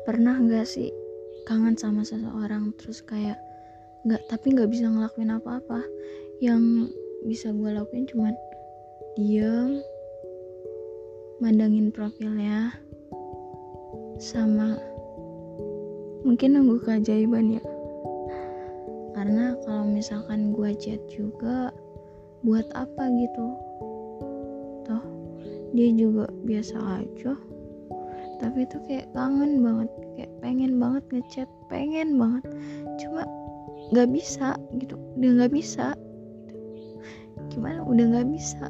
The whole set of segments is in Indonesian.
Pernah nggak sih kangen sama seseorang terus kayak nggak bisa ngelakuin apa-apa? Yang bisa gue lakuin cuman diam, mandangin profilnya, sama mungkin nunggu keajaiban ya. Karena kalau misalkan gue chat juga, buat apa gitu? Toh dia juga biasa aja. Tapi itu kayak kangen banget, kayak pengen banget ngechat, pengen banget, cuma nggak bisa gitu, udah nggak bisa. Gimana? Udah nggak bisa.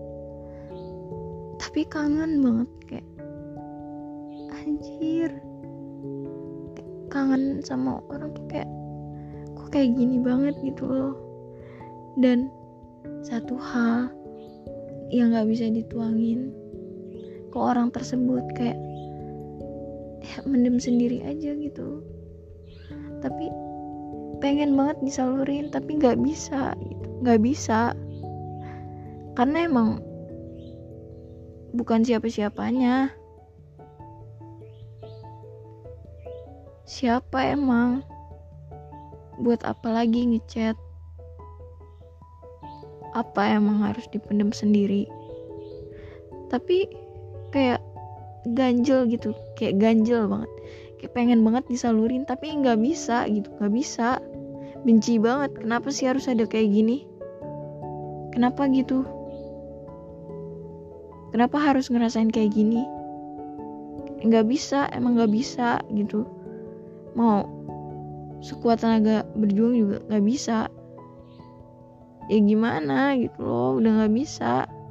Tapi kangen banget, kayak anjir, kayak kangen sama orang tuh kayak kok kayak gini banget gitu loh. Dan satu hal yang nggak bisa dituangin ke orang tersebut, kayak mendem sendiri aja gitu. Tapi pengen banget disalurin, tapi nggak bisa gitu, nggak bisa. Karena emang bukan siapa-siapanya. Siapa emang? Buat apa lagi ngechat? Apa emang harus dipendam sendiri? Tapi kayak ganjel gitu, kayak ganjel banget, kayak pengen banget disalurin tapi nggak bisa gitu, nggak bisa. Benci banget, kenapa sih harus ada kayak gini? Kenapa gitu? Kenapa harus ngerasain kayak gini? Nggak bisa, emang nggak bisa gitu. Mau sekuat tenaga berjuang juga nggak bisa. Ya gimana gitu loh, udah nggak bisa.